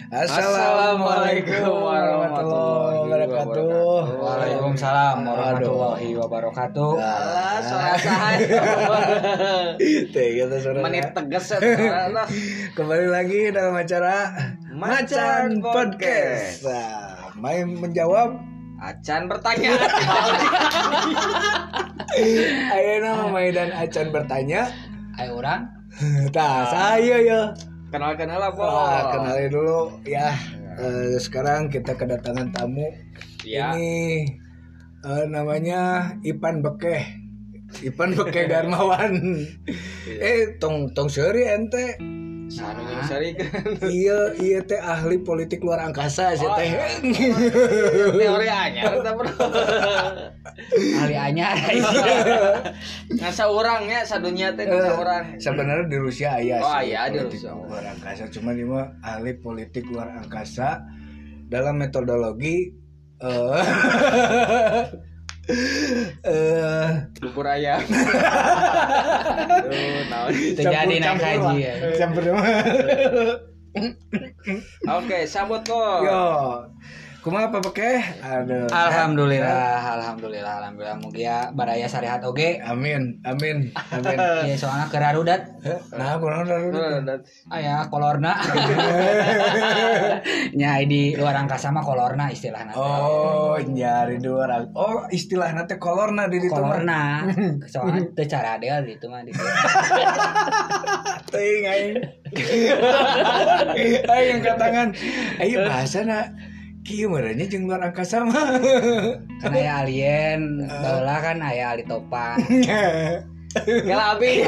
Assalamualaikum warahmatullahi wabarakatuh. Waalaikumsalam warahmatullahi wabarakatuh. Alah, suara saha. Kita suara. Menit tegas ya. Kembali lagi dalam acara Macan Podcast. Nah, main menjawab, Acan bertanya. ayo nama main dan Acan bertanya. Ayo orang. Tah, saya ya. Kenal-kenal apa? Kenalin dulu ya. Sekarang kita kedatangan tamu. Ya. Ini namanya Ipan Bekeh Darmawan. Tong seri ente. Sari kan. Iya teh ahli politik luar angkasa sih teh. Teori anyar kita bro. Ahli anyar. Ngasa orangnya sadunya teh ngasa orang. Sebenarnya di Rusia aya sih. Oh iya di Rusia luar angkasa, cuma dia mah ahli politik luar angkasa dalam metodologi bubur ayam. Terjadi naik haji ya. Oke, sambut kok. Yo. Kumaha apa Bekeh? Aduh. Alhamdulillah. Mugia baraya sarehat oge. Amin. Ieu soalna kerarudat. Nah, kurang darudat. Aya kolorna. Nya di luar angkasa mah kolorna istilahna. Oh, nyari di luar. Oh, istilahna teh kolorna di ditu. Kolorna. Soalna teu cara deal di ditu mah di. Teuing aing. Aing katangan. Ayo bahasana kieu merenya jeung luar angkasa mah. Kan aya alien, baheula kan aya ali topang. Kala abi.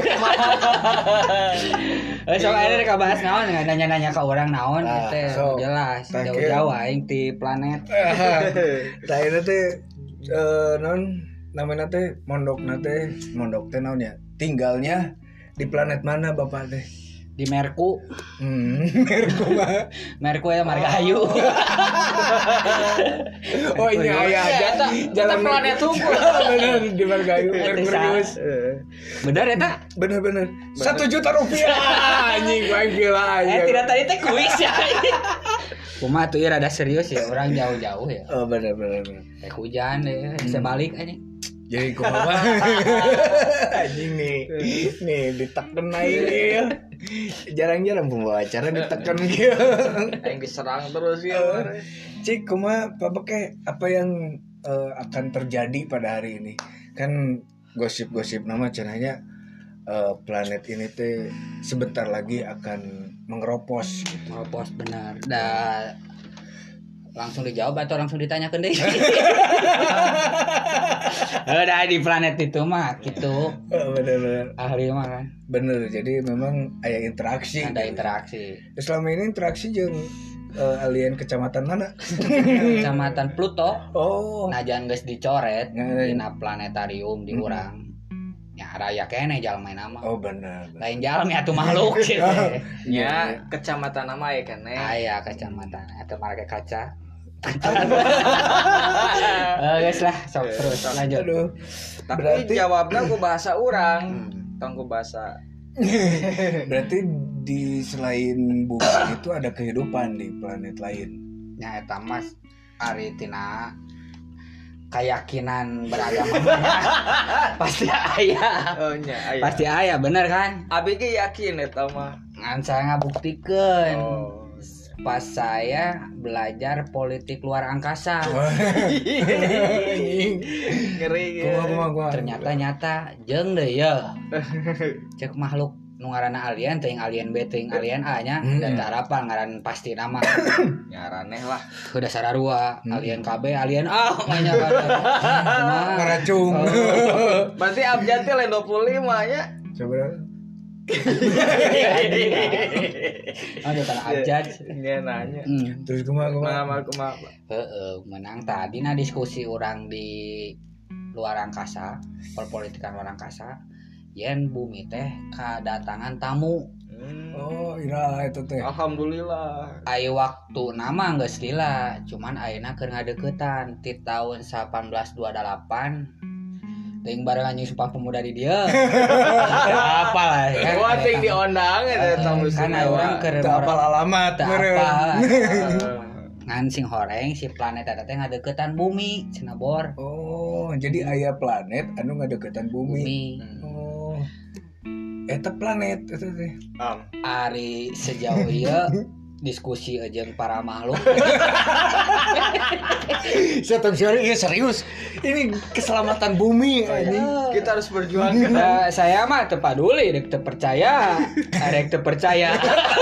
Sok aya rek bahas naon nanya-nanya ka urang naon teh jelas jauh-jauh aing ti planet. Tah eta teh naon namana teh mondok teh naon ya? Tinggalnya di planet mana Bapak teh? Di Merku. Merku mah. Merku ya Margahayu. Oh ini aya jalan planet hukum. Bener di Margahayu Merkurius. Bener eta? Bener. 1 juta rupiah. Anjing gua gila aja. Tidak tadi teh kuis ya. Kumaha tuh rada serius ya, orang jauh-jauh ya. Oh bener. Teh hujan deh, bisa balik aja. Jadi kumaha? Anjing nih diteken aing ya. Jarang-jarang pembawa acara diteken gitu. Aing diserang terus ya. Cik, kumaha Pak Bekeh, apa yang akan terjadi pada hari ini? Kan gosip-gosip nama cenanya planet ini teh sebentar lagi akan mengeropos gitu. Mengeropos benar. Langsung dijawab atau langsung ditanyakan deh. Udah di planet itu mah gitu. Bener. Ahli mah kan. Bener, jadi memang ada interaksi. Ada interaksi. Selama ini interaksi jeung alien kecamatan mana? Kecamatan Pluto. Oh. Najan geus dicoret dina planetarium di urang. Ya raya kene jalma nama. Oh bener. Lain jalma atuh makhluk gitu. Ya kecamatan nama ya kan aya kecamatan atuh marga kaca. Guys lah, sok terus lanjut. Aduh. Tapi berarti jawabnya ku bahasa urang. Tong ku bahasa. Berarti di selain bumi itu ada kehidupan di planet lain. Ya eta mas ari tina keyakinan beragama pasti aya. Oh nya aya. Pasti aya bener kan? Abi ge yakin eta mah. Ngan saya ngabuktikeun. Oh. Pas saya belajar politik luar angkasa. Ngeri Gua. Ternyata nyata jeung deui ya. Cek makhluk nu ngaranna alien teuing alien B teuing alien A nya dan teu hafal ngaran pasti nama. Nyaraneh lah. Udah sararua alien KB alien A nya kan. Ngaracung. Berarti abjad teh lain 25 nya. Coba. Ada tanah abjad. Nya nanya. Terus kumaha? Menang tadi na diskusi orang di luar angkasa, perpolitikan luar angkasa. Yen bumi teh kedatangan tamu. Oh, ira eta teh. Alhamdulillah. Ai waktu nama geus lila, cuman ayeuna keur ngadeuketan ti tahun 1828 ting bareng anjing Sumpah Pemuda di dia. Apa lah kan. Wah, ting diondang eta tamu Kan orang keur Tak apal alamat teu meureun. apal. Ngan sing horeng si planet eta teh ngadeukeutan bumi cenah bor. Oh, jadi aya planet anu ngadeukeutan bumi. Bumi. Oh. Eta planet eta teh. Ari sejauh ieu diskusi jeung para makhluk. Saya serius. Ini keselamatan bumi anjing. Kita harus berjuang. Saya mah teu paduli dek teu percaya. Arek teu percaya.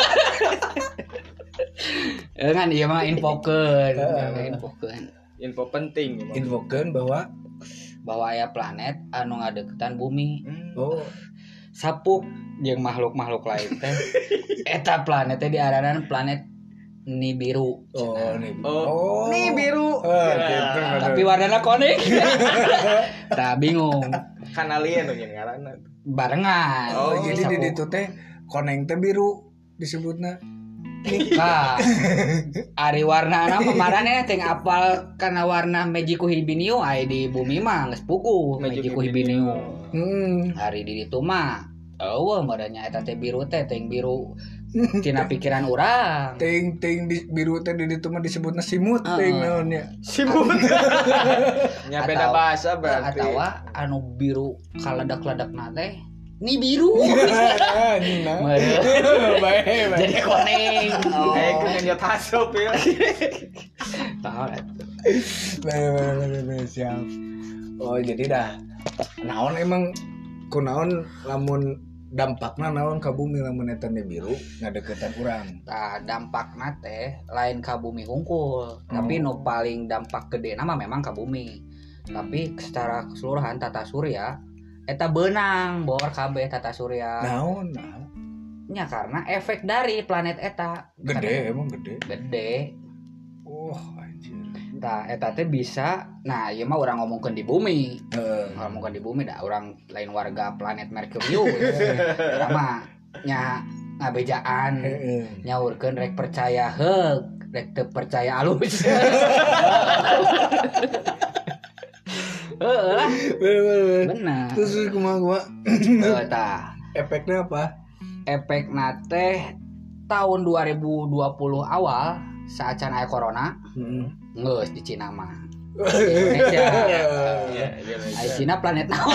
Kan ieu mah infokeun. Info penting. Infokeun Bahwa aya planet anu ngadeukeutan bumi. oh, Sapuk jeung makhluk-makhluk lain teh. Eta planet teh diaranan planet Nibiru. nih. Nih biru. Gitu. Tapi warnanya konik. Tah bingung. Kan alien nu ngaranna. Barengan. Oh, jadi Sapuk. di ditu teh koneng teh biru disebutna. Nah, ari warnana pemarane teh apal kana warna Mejiku Hibiniu aya di bumi mah geus puguh Mejiku Hibiniu. Hari di ditu mah eueuh modanya eta teh biru teh teh biru tina pikiran urang. Ting di biru teh di ditu mah disebutna simut ting naonnya. Simut. Nya beda bahasa berarti. Atawa anu biru kaledak-ledakna teh ni biru. Bae. Jadi koneng. Kayak kenyot hasup ya. Tahu Bae siap. Oh, jadi dah naon emang kunaon lamun dampakna naon ka bumi lamun eta biru ngadeuketan urang. Nah, dampakna teh lain ka bumi hungkul, tapi nu paling dampak gede mah memang ka bumi. Tapi secara keseluruhan tata surya eta beunang bor kabeh tata surya. Naon? Nya karena efek dari planet eta Gede emang gede. Gede. Oh, anjir. Nah, eta teh bisa. Nah, ieu mah urang ngomongkeun di bumi. Heeh. Ngomongkeun di bumi dah urang lain warga planet Merkurius. Eta mah nya ngabejaan. Nyaurkeun rek percaya heug, rek teu percaya alus. Heeh lah. Bener. Terus kumaha? Tah. Efeknya apa? Efekna teh tahun 2020 awal saat can aya corona. Geus di Cina mah. Indonesia. Ai Cina planet naon?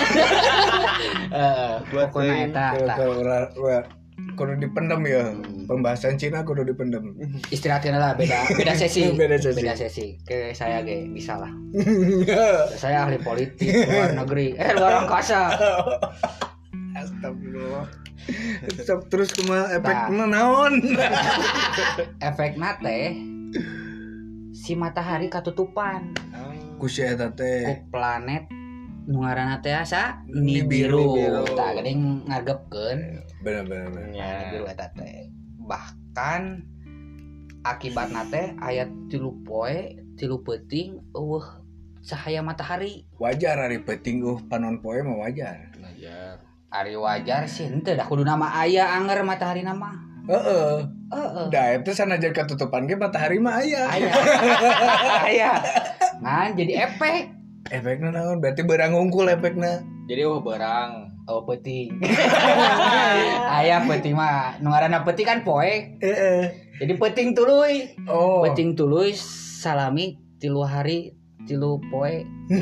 Pokona eta tah. Kudu dipendem ya. Pembahasan Cina kudu dipendem. Istirahatkeun lah beda sesi. Beda sesi. Beda sesi. Ke saya ge bisa lah. Saya ahli politik luar negeri. Luar angkasa. Astagfirullah. Terus kumaha efekna naon? Efekna teh si matahari katutupan Ku si eta teh. ku planet nu ngaranna teh asa Nibiru. Nibiru. Tah geuning ngargepkeun Bener. Nibiru eta teh. Bahkan akibatna teh aya 3 poe 3 peuting eueuh cahaya matahari. Wajar ari peuting panon poe mah wajar. Ari wajar sih henteu dah kudu nama aya anger matahari nama. Heeh. Heeh. Da itu sanajan katutupan ge matahari mah aya. Aya. Ngan jadi efek. Efekna naon? Berarti beurang ngungkul efekna. Jadi berang. Oh peuting. Aya peuting mah nu ngaranna peuting kan poe. Heeh. Jadi peuting tuluy. Oh. Peuting tuluy salami 3 hari 3 poe.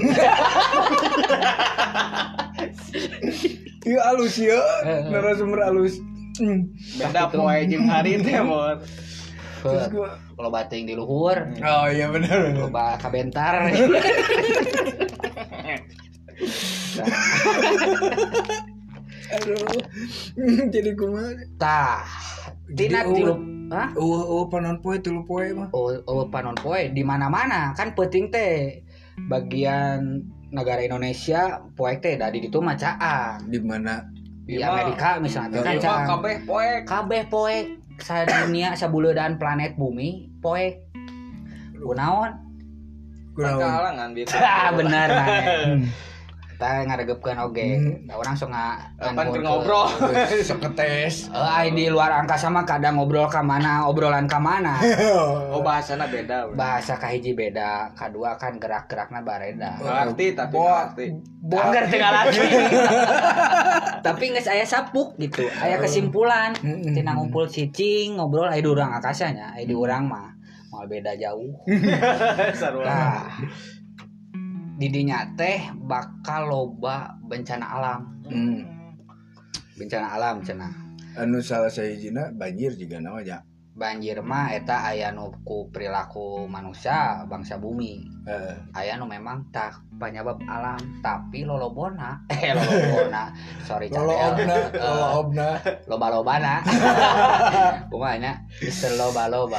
Ieu alus ya. Narasumber alus. Beda poe jeung hari teh mor. Terus gua Kalau bating di luhur, oh iya benar. loba kabentar. Aduh. Jadi kumaha? Tah, tina tilu, hah? Panon poe 3 poe mah. Oh panon poe di mana-mana kan peuting teh bagian negara Indonesia poe teh da di ditu mah caang. Di mana? Di Amerika misalnya kan Ieu mah caang. kabeh poe. Sa dunia sabuleudan planet bumi poe. Kunaon? Kalangan gitu. Benar maneh. eta ngaregepkeun oge. Da urang sok pan ngobrol. Seketes. Di luar angkasa mah kadang ngobrol ka mana, obrolan ka mana. Oh bahasana beda. Bahasa kahiji beda, kadua kan gerak-gerakna bareda. Ngerti tapi ngerti. Angger teu ngarti. Tapi geus aya sapuk gitu, aya kesimpulan. Tina ngumpul cicing, ngobrol aya di urang akasanya, aya di urang mah moal beda jauh. Nah, di dinya teh bakal loba bencana alam. Bencana alam cenah. Anu salah sahijina banjir juga namanya. Banjir mah eta aya nu ku perilaku manusia bangsa bumi. Aya nu memang tak penyebab alam tapi lolobona. Sorry Lolobna. Loba-lobana. Kumanya Mister loba-loba.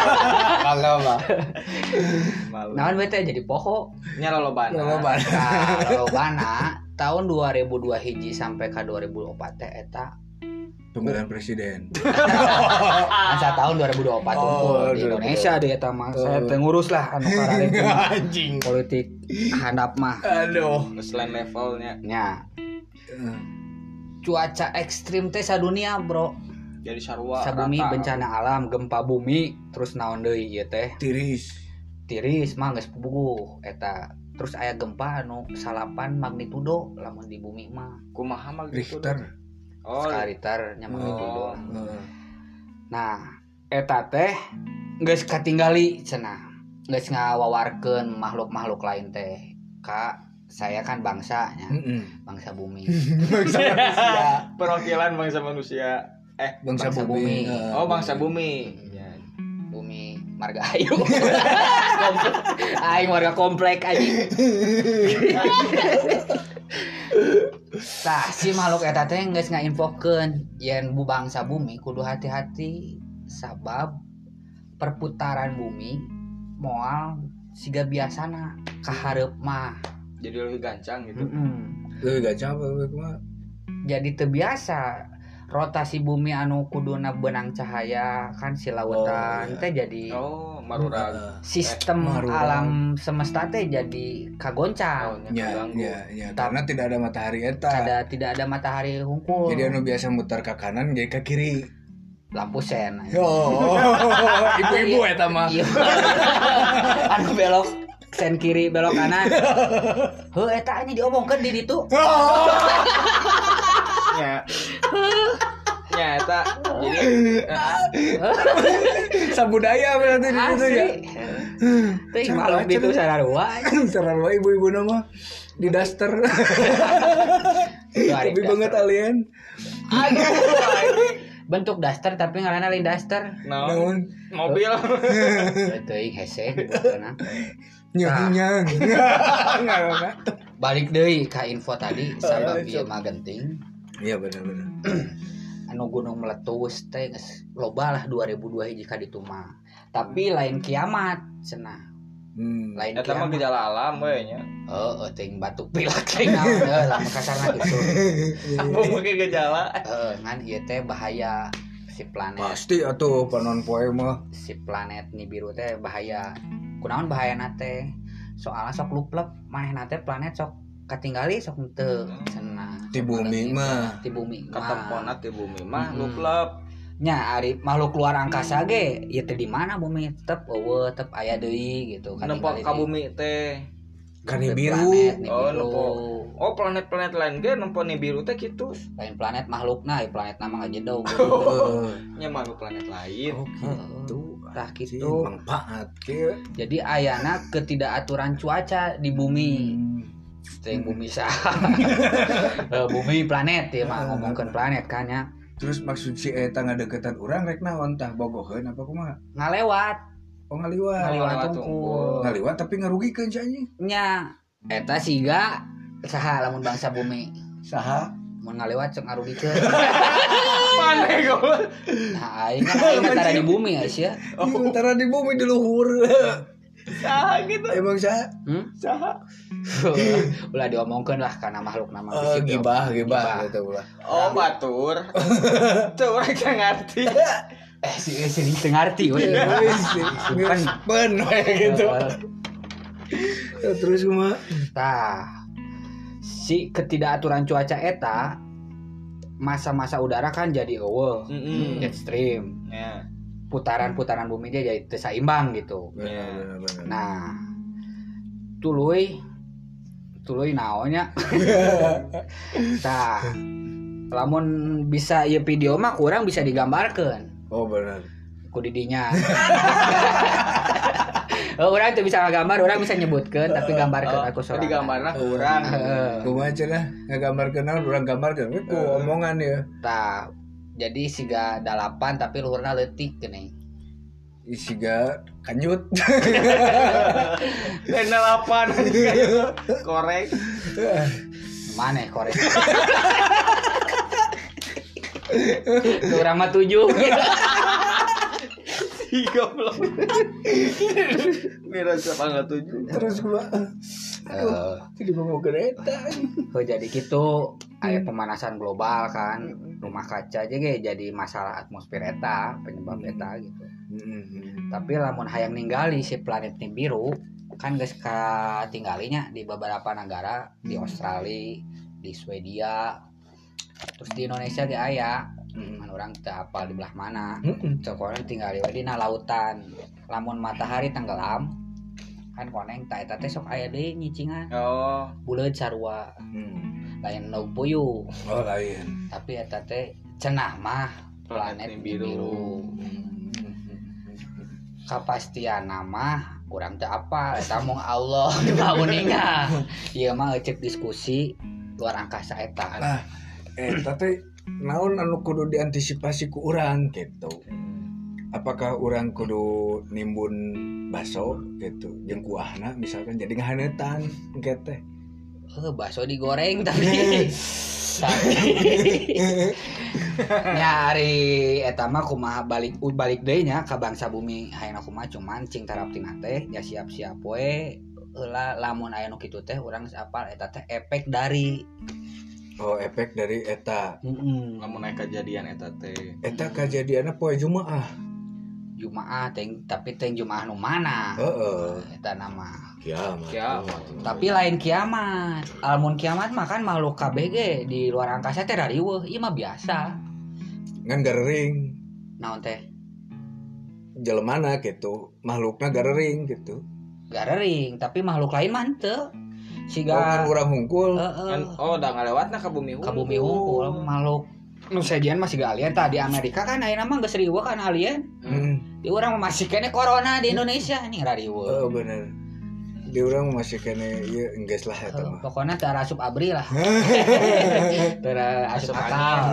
Naon bete jadi poho. Nya lolobana. Lolobana tahun 2002 hiji sampai ka 2004 teh eta pemilihan presiden. Masa tahun 2024 unggul di Indonesia deh eta mah. Saya teh ngurus lah anu karare anjing politik handap mah. Aduh, selain levelnya. Nya. Cuaca ekstrim teh sadunia, Bro. Jadi sarua sabumi bencana alam, gempa bumi, terus naon deui ieu teh? Tiris mah geus puguh eta. Terus aya gempa anu 8 magnitudo lamun di bumi mah. Kumaha magnitudo? Richter. Skala nya magnitudo. Nah, eta teh geus katinggali cenah. Geus ngawawarkeun makhluk-makhluk lain teh. Ka saya kan bangsanya. Bangsa bumi. Bangsa manusia. Perwakilan bangsa manusia. Bangsa bumi. Oh, bangsa bumi. Bumi marga ayu. Aing warga komplek anjing. Tah si makhluk eta teh geus ngainfokeun yen bu bangsa bumi kudu hati-hati sabab perputaran bumi moal siga biasana ka hareup mah. Jadi lebih gancang gitu. Lebih gancang apa lebih kumaha? Jadi teu biasa rotasi bumi anu kuduna benang cahaya kan si lautan teh jadi marurag sistem alam semesta teh jadi kagoncang. Ya. Karena tidak ada matahari eta. Tidak ada matahari hungkul. Jadi anu biasa muter ke kanan jadi ke kiri. Lampu sen. Ibu-ibu eta mah. Anu belok sen kiri belok kanan. Heuh eta ini diomongkeun di ditu. Ya eta jadi sabudaya berarti di situ ya. Teh malam itu sararua ibu-ibu nama di daster. Tapi banget alien. Aduh, bentuk daster tapi ngaranna lain daster. Naon? Mobil. Teuing hese dibutuna. Nyang. Balik deui ka info tadi sabab ieu mah genting. Iya benar. Anu gunung meletus teh geus loba lah 2002 hiji ka ditu mah. Tapi lain kiamat cenah. Lain eta mah gejala alam we nya. Teuing batuk pilek teh naon lamun kasarna kitu. Apa mungkin gejala? Ngan ieu teh bahaya si planet. Pasti atuh panon poe mah. Si planet Nibiru teh bahaya. Kunaon bahayana teh? Soalna sok luplep manehna teh planet sok katinggali sok teu cenah. Di bumi mah katempona di bumi mah luplep. Nya ari makhluk luar angkasa ge ieu teh di mana bumi tetep eueuh tetep aya deui gitu kan. Nempo ka bumi teh kan Nibiru. Oh planet-planet lain ge nempo Nibiru teh kitu. Lain planet makhlukna, planet nama ngajedog. Nya makhluk planet lain. Oh gitu. Tah kitu. Manfaat ke. Jadi ayana ketidakaturan cuaca di bumi. Yang bumi bumi planet ya mah ngomongkeun planet kan ya. Terus maksud si eta ngadeukeutan urang rek naon tah bogoheun apa kumaha? Ngalewat. Oh ngaliwat tungkul. Ngaliwat tapi ngarugikeun si anjing. Nya eta siga saha lamun bangsa bumi. Saha? Mun ngalewat sok ngarugikeun. Maneh goblok. Nah aing tara di bumi ya. Tara di bumi di luhur. Saha gitu. Emang saha? Saha? Ulah diomongkeun lah kana makhluk nama gibah gitu ulah. Oh batur. Tuh urang teu ngarti. Si teu ngarti we. Pen gitu. Terus kumaha? Tah. Si si ketidakaturan cuaca eta masa-masa udara kan jadi eueuh, ekstrim. Ya. Putaran-putaran bumi dia jadi teu saimbang gitu. Benar. Nah, tuluy naonnya. Tah, lamun bisa ieu video mah kurang bisa digambarkeun. Oh benar. Ku didinya. Orang tuh bisa ngagambar, orang bisa nyebutkeun tapi gambarkeun aku sorangan. Digambarna ku urang. Kumaha cenah ngagambarkeun naon urang gambarkeun we ku omongan ya. Tah, jadi siga 8 tapi luhurna leutik geuning. Siga kanjut. Dan 8 korek. Mana korek? Urang mah 7. Goblok. Mira siapa 7. Terus gua jadi ngomong kereta. Oh jadi gitu aya pemanasan global kan. Rumah kaca aja ge jadi masalah atmosfer eta, penyebab eta gitu. Tapi lamun hayang ninggali si planet Nibiru kan geus katinggalinya di beberapa negara, di Australia, di Swedia, terus di Indonesia ge aya. Orang teu apal di belah mana. Cok orang tinggal di dina lautan. Lamun matahari tenggelam kan koneng ta eta teh sok aya deui nyicingan. Oh, Buleud sarua. Lain nu puyuh. Oh lain. Tapi eta teh cenah mah planet biru. Kapastian nama urang teu apal eta mung Allah ngawuninga. Ieu mah cek diskusi luar angkasa eta. Nah, eta teh naon anu kudu diantisipasi ku urang gitu. Apakah urang kudu nimbun baso gitu jeung kuahna misalkan jadi ngahaneutan engke teh. Baso digoreng tapi nyari eta mah kumaha balik deui nya ka bangsa bumi hayangna kumaha cuman cing taraptina teh nya siap-siap we heula lamun aya nu kitu teh urang geus apal eta teh efek dari eta. lamun aya kejadian eta teh. Eta kejadianna poe Jumaah tapi teh Jumaah nu mana? Eta nama kiamat. Tapi lain kiamat. Almun kiamat mah kan makhluk kabeh ge di luar angkasa teh rariweuh. Ieu mah biasa. Ngan garering. Naon teh? Jelemana gitu, makhlukna garering gitu. Garering, tapi makhluk lain mah teu. Siga kan urang hungkul. Kan da ngalewatna ka bumi hungkul. Ka bumi hungkul makhluk nu sajian masih gak alien tah di Amerika kan ayeuna mah geus riweuh kan alien. Di urang masih kene corona di Indonesia nih rariweuh. Bener. Di urang masih kene ieu enggeus lah eta mah. Pokona teu asup abri lah. Teu asup akal.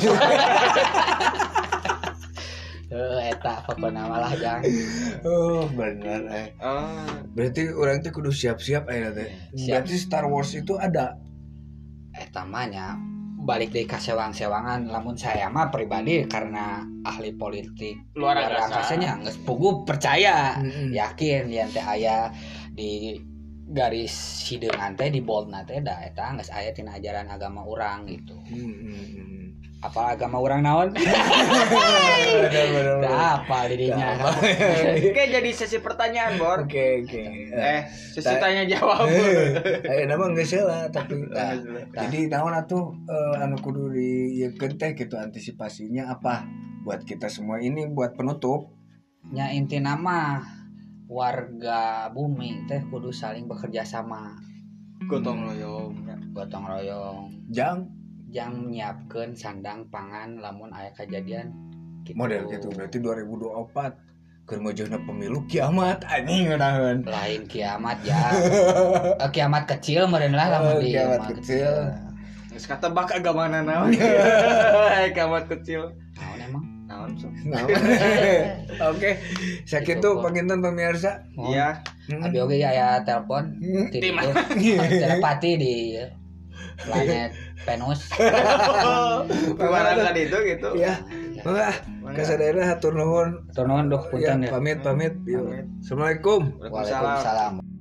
Eta pokona malah jang. Bener Berarti urang teh kudu siap-siap ayeuna teh. Berarti Star Wars itu ada. Eta mah nya balik dari kasewang-sewangan lamun saya mah pribadi karena ahli politik luar angkasanya geus puguh percaya yakin yen teh aya di garis hideungan teh di boldna teh da eta geus aya tina ajaran agama urang gitu. Apa agama urang naon? Bener. Apa dirinya? Oke, jadi sesi pertanyaan, Bor. Oke. Sesi tanya jawab. Nama geus heula tapi jadi naon atuh anu kudu dieukeun teh gitu antisipasinya apa buat kita semua ini buat penutup. Nya intina mah warga bumi teh kudu saling bekerja sama. Gotong royong. Jang nyiapkeun sandang pangan lamun aya kejadian gitu. Model gitu berarti 2024 keur ngojona pemilu kiamat anjing ngeunaheun. Lain kiamat ya. Kiamat kecil meureun lah lamun di kiamat kecil. Geus katebak agamana naon. Kiamat kecil. Naon emang? Naon sok. Oke. Sakitu panginten pemirsa. Iya. Abi oge aya telepon ti telepati di planet Venus. Barangkali itu gitu. Ya. Mangga kasadayana hatur nuhun. Hatur nuhun doh punten ya. Pamit. Assalamualaikum. Waalaikumsalam.